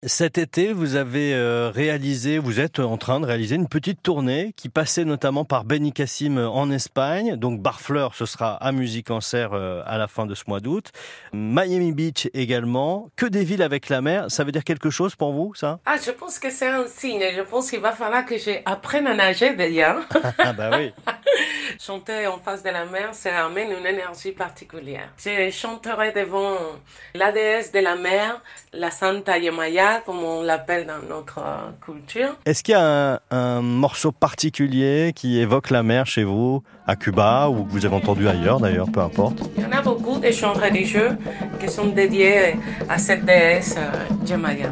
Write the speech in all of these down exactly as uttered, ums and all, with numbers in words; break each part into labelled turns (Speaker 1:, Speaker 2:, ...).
Speaker 1: Cet été, vous avez euh, réalisé, vous êtes en train de réaliser une petite tournée qui passait notamment par Benicassim en Espagne. Donc Barfleur, ce sera à Musicancert euh, à la fin de ce mois d'août. Miami Beach également. Que des villes avec la mer, ça veut dire quelque chose pour vous, ça?
Speaker 2: Ah, je pense que c'est un signe. Je pense qu'il va falloir que j'apprenne à nager d'ailleurs.
Speaker 1: Ah bah oui.
Speaker 2: Chanter en face de la mer, ça amène une énergie particulière. Je chanterai devant la déesse de la mer, la Santa Yemaya, comme on l'appelle dans notre culture.
Speaker 1: Est-ce qu'il y a un, un morceau particulier qui évoque la mer chez vous, à Cuba, ou que vous avez entendu ailleurs d'ailleurs, peu importe?
Speaker 2: Il y en a beaucoup de chants religieux qui sont dédiés à cette déesse Yemaya.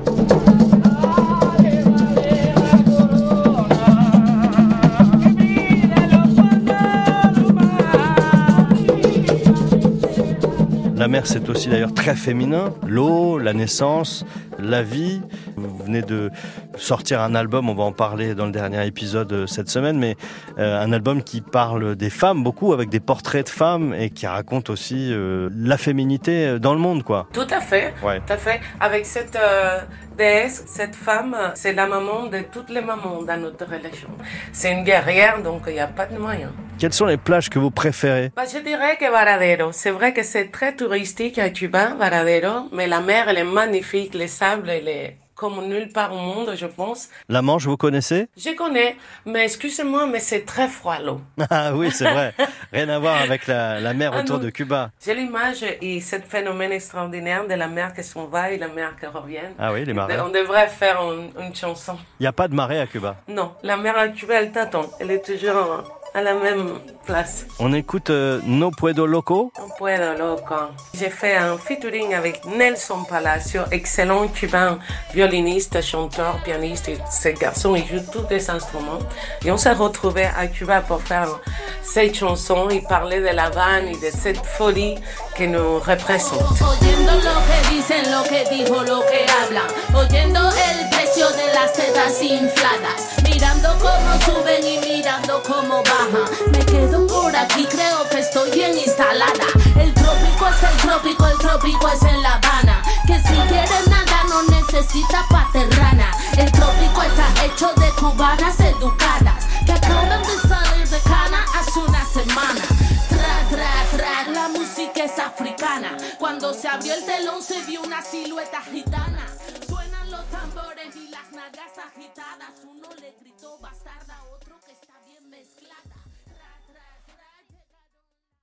Speaker 1: La mer, c'est aussi d'ailleurs très féminin. L'eau, la naissance, la vie. Vous venez de sortir un album, on va en parler dans le dernier épisode cette semaine, mais euh, un album qui parle des femmes beaucoup, avec des portraits de femmes et qui raconte aussi euh, la féminité dans le monde, quoi.
Speaker 2: Tout à fait,
Speaker 1: ouais.
Speaker 2: Tout à fait. Avec cette euh, déesse, cette femme, c'est la maman de toutes les mamans dans notre religion. C'est une guerrière, donc il n'y a pas de moyen.
Speaker 1: Quelles sont les plages que vous préférez?
Speaker 2: Bah, je dirais que Varadero. C'est vrai que c'est très touristique à Cuba, Varadero, mais la mer, elle est magnifique, les sables, elle est comme nulle part au monde, je pense.
Speaker 1: La Manche, vous connaissez?
Speaker 2: Je connais, mais excusez-moi, mais c'est très froid l'eau.
Speaker 1: Ah oui, c'est vrai. Rien à voir avec la, la mer
Speaker 2: ah
Speaker 1: autour
Speaker 2: non.
Speaker 1: de Cuba.
Speaker 2: J'ai l'image et ce phénomène extraordinaire de la mer qui s'en va et la mer qui revient.
Speaker 1: Ah oui, les marées.
Speaker 2: On devrait faire une, une chanson.
Speaker 1: Il n'y a pas de marée à Cuba?
Speaker 2: Non, la mer à Cuba, elle t'attend. Elle est toujours à la même place.
Speaker 1: On écoute euh, No Puedo Loco.
Speaker 2: No Puedo Loco. J'ai fait un featuring avec Nelson Palacio, excellent cubain, violoniste, chanteur, pianiste. Et ce garçon, il joue tous les instruments. Et on s'est retrouvés à Cuba pour faire cette chanson et parler de La Habana et de cette folie qui nous représente.
Speaker 3: Oyendo lo que dicen, lo que dijo, lo que hablan. Oyendo el precio de las tetas infladas. Mirando cómo suben y mirando cómo bajan. Me quedo por aquí, creo que estoy bien instalada. El trópico es el trópico, el trópico es en La Habana. Que si quieres nada no necesitas paterrana. El trópico está hecho de cubanas educadas que acaban de salir de Cana hace una semana. Tra, tra, tra, la música es africana. Cuando se abrió el telón se vio una silueta gitana. Suenan los tambores y las nalgas agitadas. Uno le gritó bastarda a otro que está bien mezclado.